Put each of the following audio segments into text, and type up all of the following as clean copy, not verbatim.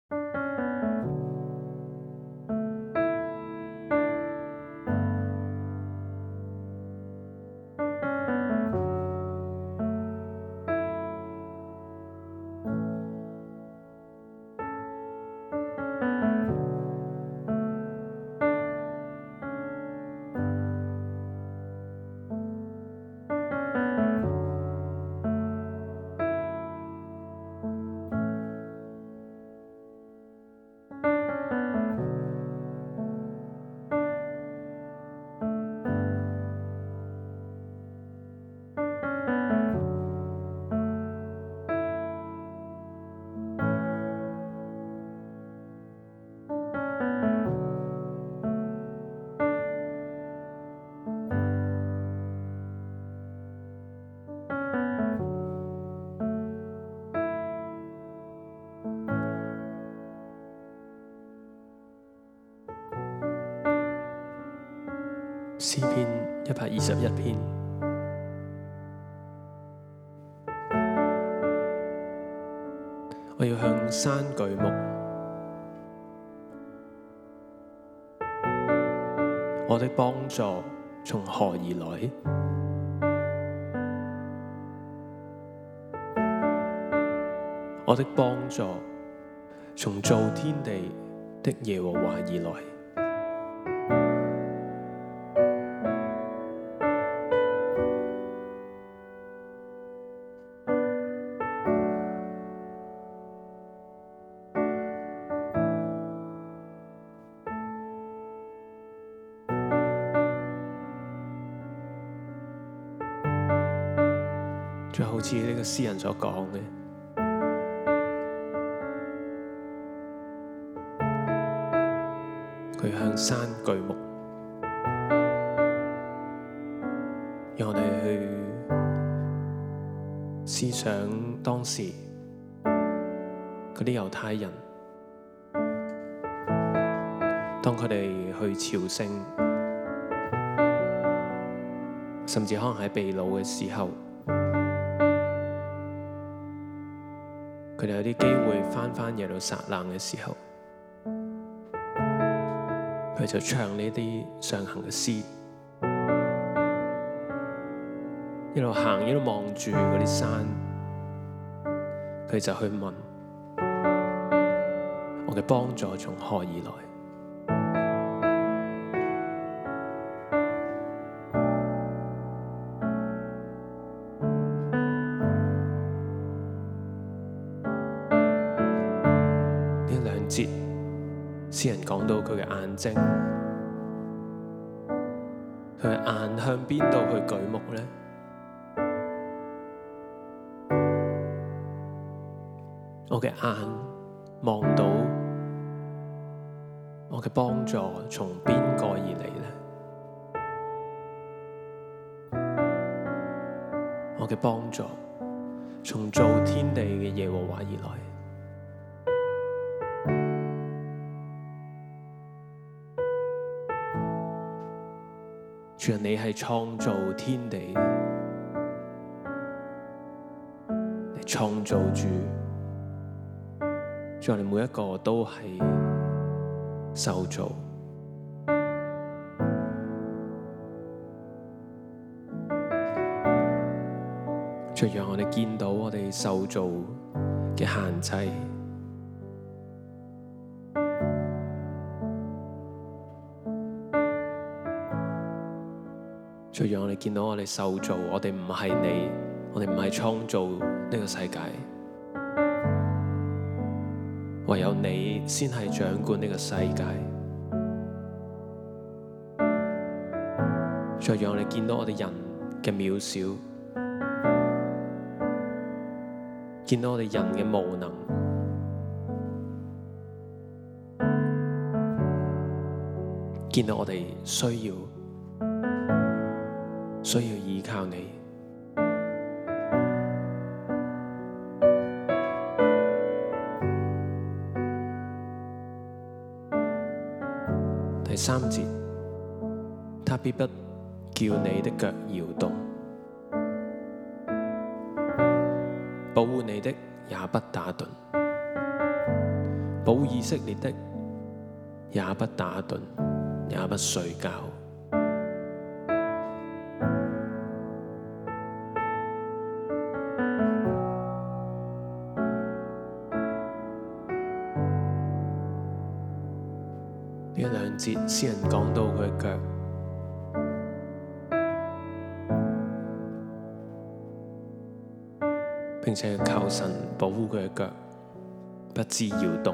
詩篇121篇。我要向山舉目，我的幫助從何而來？我的幫助從造天地的耶和華而來。就好似呢個詩人所講嘅，佢向山舉目，讓我哋去思想當時嗰啲猶太人，當佢哋去朝聖，甚至可能喺被擄嘅時候，佢哋有啲機會返耶路撒冷嘅時候，佢就唱呢啲上行嘅詩，一路行一路望住嗰啲山，佢就去問：我嘅幫助從何而來？詩人講到佢嘅眼睛，佢嘅眼向邊度去舉目呢？我嘅眼望到我嘅幫助從邊個而嚟呢？我嘅幫助從造天地嘅耶和華而來。主啊，你係創造天地，你創造主，主啊，你每一個都係受造。主啊，讓我哋見到我哋受造嘅限制。就讓我哋見到我哋受造，我哋唔係你，我哋唔係創造呢個世界，唯有你先係掌管呢個世界。再讓我哋見到我哋人嘅渺小，見到我哋人嘅無能，見到我哋需要依靠你。第3節，他必不叫你的腳搖動，保護你的也不打盹，保保護以色列的，也不打盹，也不睡覺。呢兩節詩人講到佢嘅腳，並且求神保護佢嘅腳，不致搖動。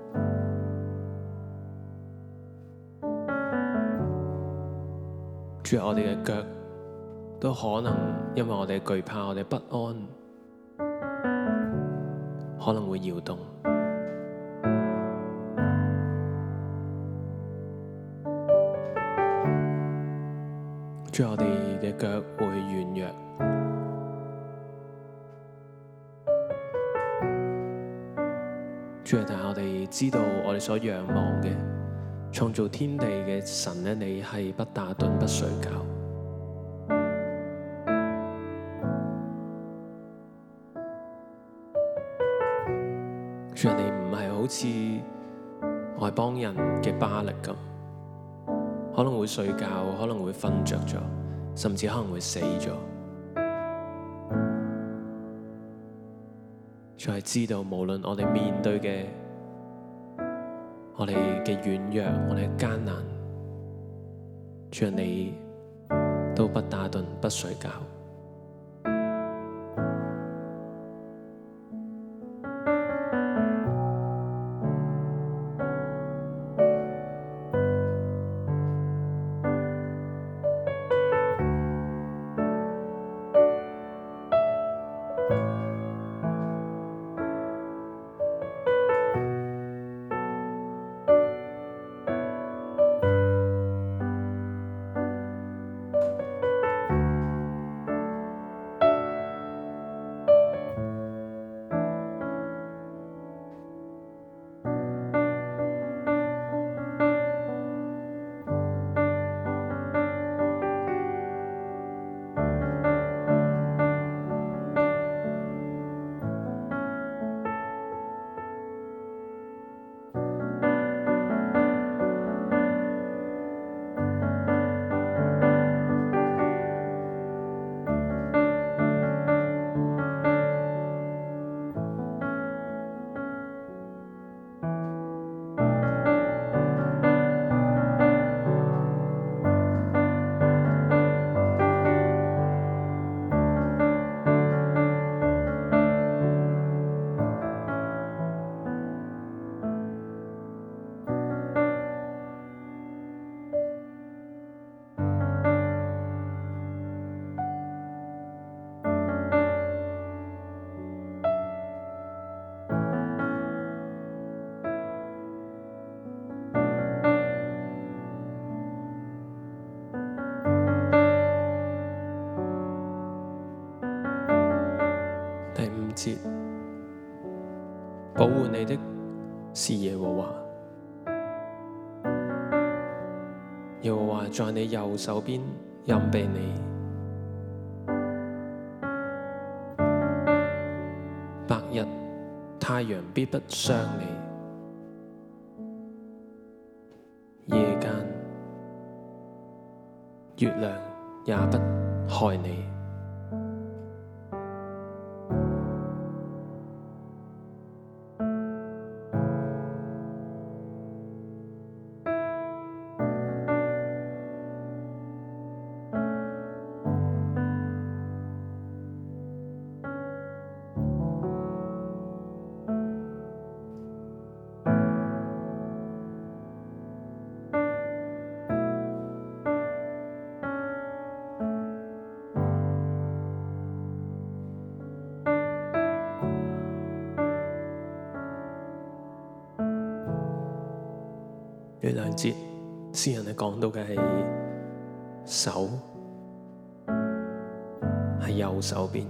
主啊，我哋嘅腳都可能因為我哋懼怕，我哋不安，可能會搖動。主啊，我哋嘅腳會軟弱。主啊，但係我哋知道我哋所仰望嘅創造天地嘅神咧，你係不打盹不睡覺。主啊，你唔係好似外邦人嘅巴力咁，可能會睡覺，可能會瞓着咗，甚至可能會死咗。主係知道，無論我哋面對嘅我哋嘅軟弱，我哋嘅艱難，主啊，你都不打盹不睡覺。保護你的是耶和華，耶和華在你右手邊蔭庇你，白日太陽必不傷你，夜間月亮也不害你。呢兩節詩人係講到嘅係手，係右手邊，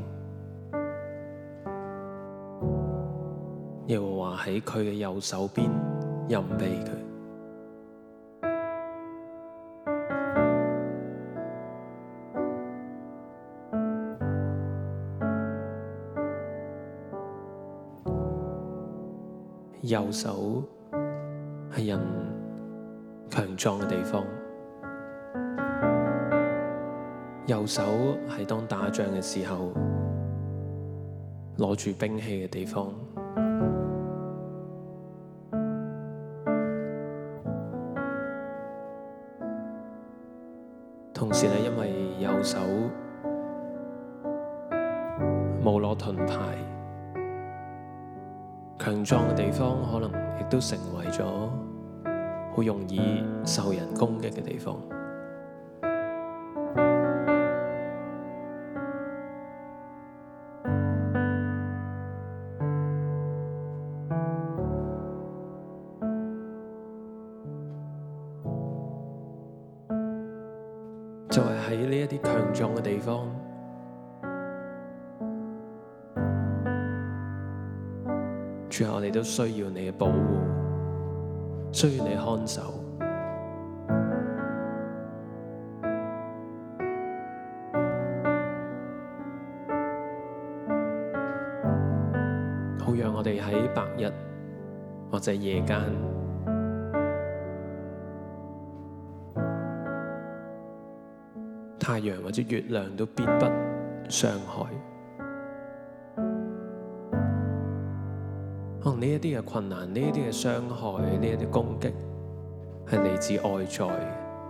耶和華喺佢嘅右手邊蔭庇佢。右手係人強壯嘅地方，右手係當打仗嘅時候攞住兵器嘅地方。同時咧，因為右手冇攞盾牌，強壯嘅地方可能亦都成為咗好容易受人攻擊嘅地方。就係喺呢一啲強壯嘅地方，主啊，我哋都需要你嘅保護，需要你看守。好讓我哋喺白日或者夜間，太陽或者月亮都必不傷害。可能呢一啲嘅困難，呢一啲嘅傷害，呢一啲攻擊係嚟自外在嘅。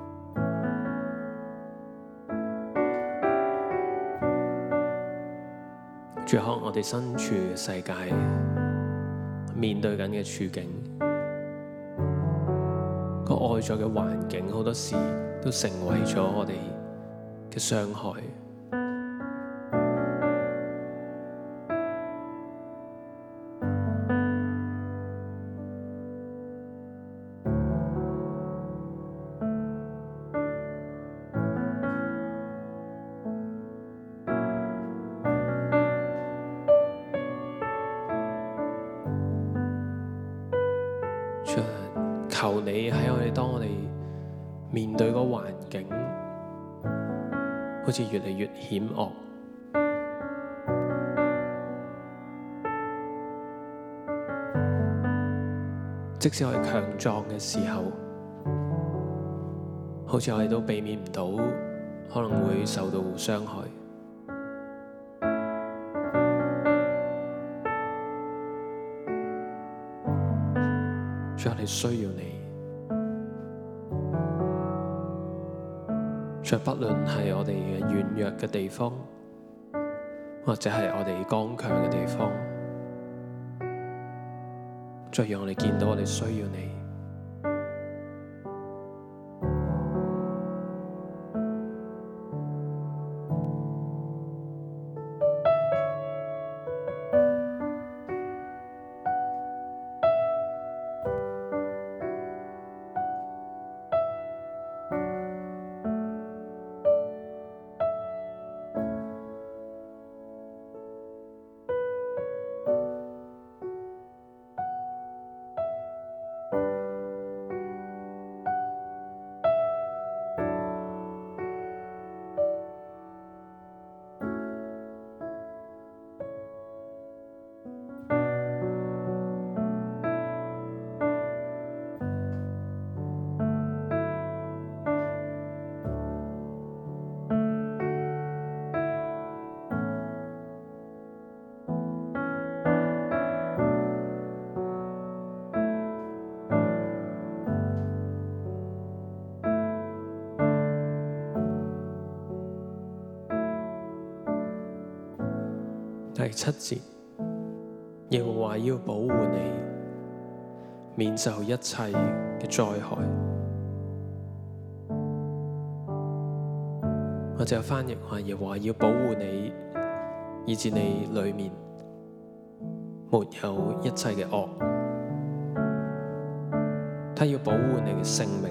主，可能我哋身處嘅世界，面對緊嘅處境，個外在嘅環境好多時都成為咗我哋嘅傷害。求你喺當我哋面對個環境好似越嚟越險惡，即使我哋強壯嘅時候，好似我哋都避免唔到可能會受到傷害。主，我哋需要你。主，不論係我哋嘅軟弱嘅地方，或者係我哋剛強嘅地方，主，讓我哋見到我哋需要你。第7節，耶和華要保護你，免受一切嘅災害。或者有翻譯話，耶和華要保護你，以致你裏面沒有一切嘅惡。他要保護你嘅性命，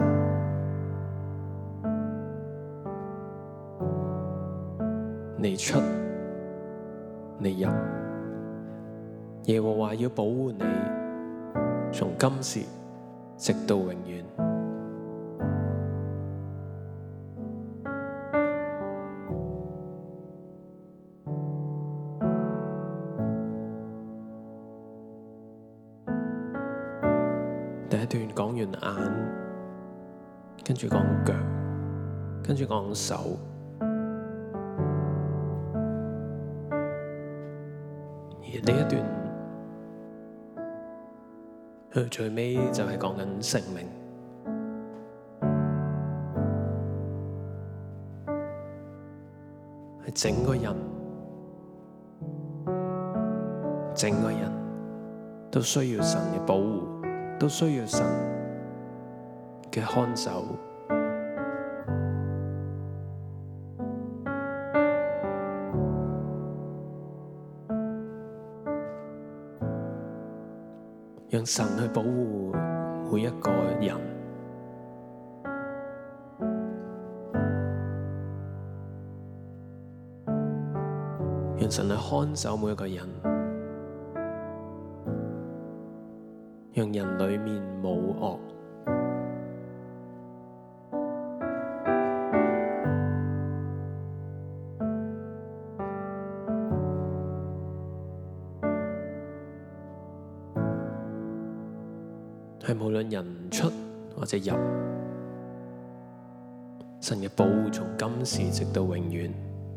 你出你入，耶和華要保護你，從今時直到永遠。第第一段講完眼，跟住講腳，跟住講手，而呢一段去到最尾就係講緊生命，係整個人都需要神嘅保護，都需要神嘅看守。讓神去保護每一個人，讓神去看守每一個人，讓人裡面冇惡，係無論人出或者入，神嘅保護從今時直到永遠。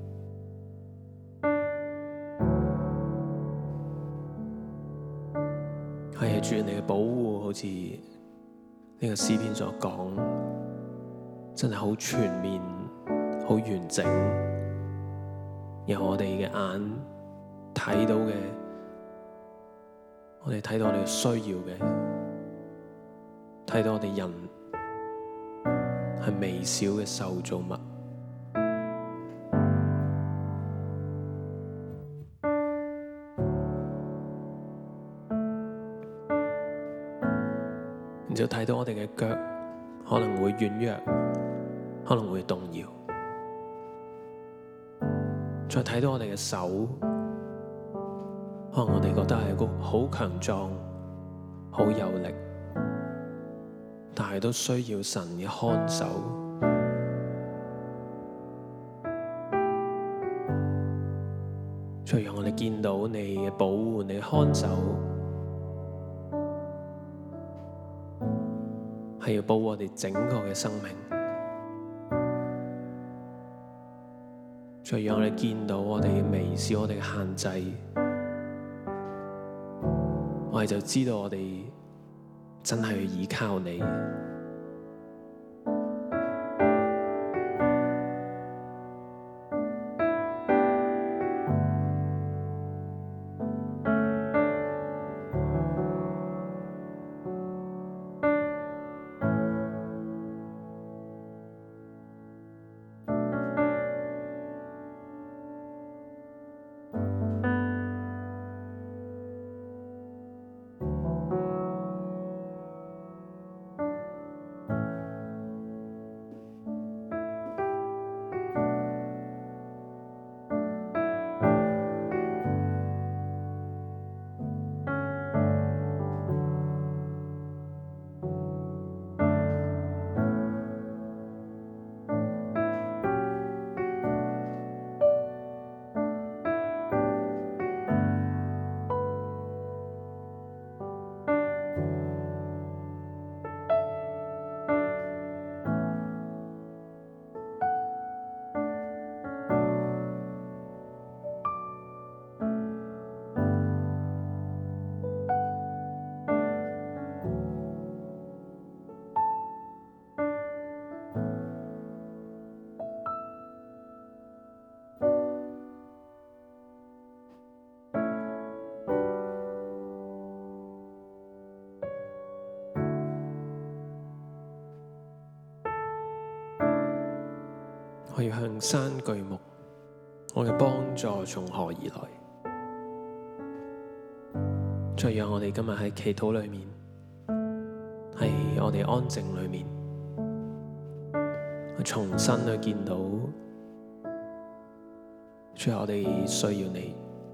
係主，你嘅保護好似呢個詩篇所講，真係好全面、好完整，由我哋嘅眼睇到嘅，我哋睇到我哋需要嘅，睇到我哋人係微小嘅受造物。然之後睇到我哋嘅腳可能會軟弱，可能會動搖，再睇到我哋嘅手，可能我哋覺得係一個好強壯、好有力，但係都需要神嘅看守。再讓我哋見到你嘅保護、你嘅看守，係要保護我哋整個嘅生命。再讓我哋見到我哋嘅微小、我哋嘅限制，我哋就知道我哋真係要依靠你。我要向山舉目，我嘅幫助從何而來？再讓我哋今日喺祈禱裏面，喺我哋安靜裏面，重新去見到，最後我哋需要你，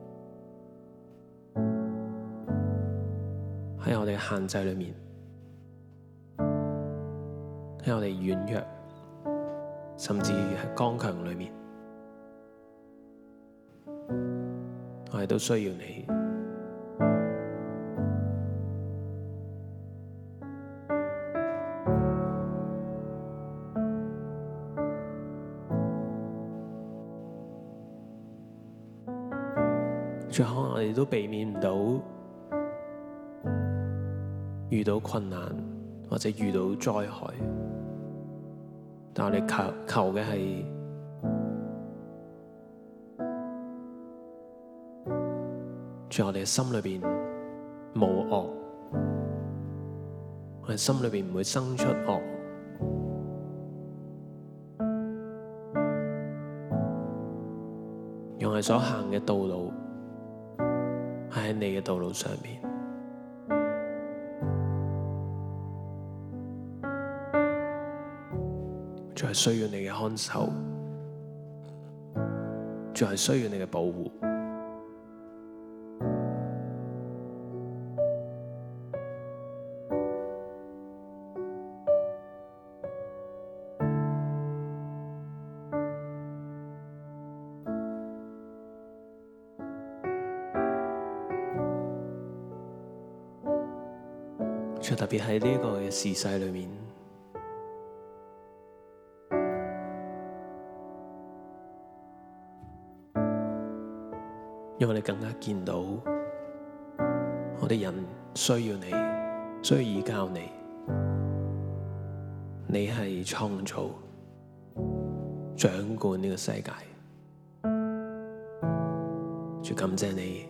喺我哋限制裏面，喺我哋軟弱，甚至係剛強裏面，我哋都需要你。 最可能我哋都避免唔到遇到困難或者遇到災害，但我哋求嘅係在我哋嘅心裏邊冇惡，我哋心裏邊唔會生出惡，用我哋所行嘅道路係喺你嘅道路上面，仲係需要你嘅看守，仲係需要你嘅保護。就特別喺呢個嘅時勢裏面，讓我哋更加見到我哋人需要你，需要依靠你。你係創造、掌管呢個世界。主感謝你。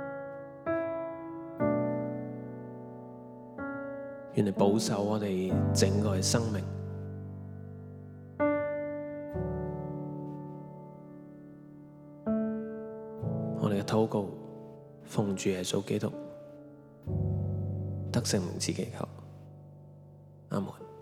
願你保守我哋整個嘅生命，我哋嘅禱告奉主耶穌基督得勝名字祈求，阿門。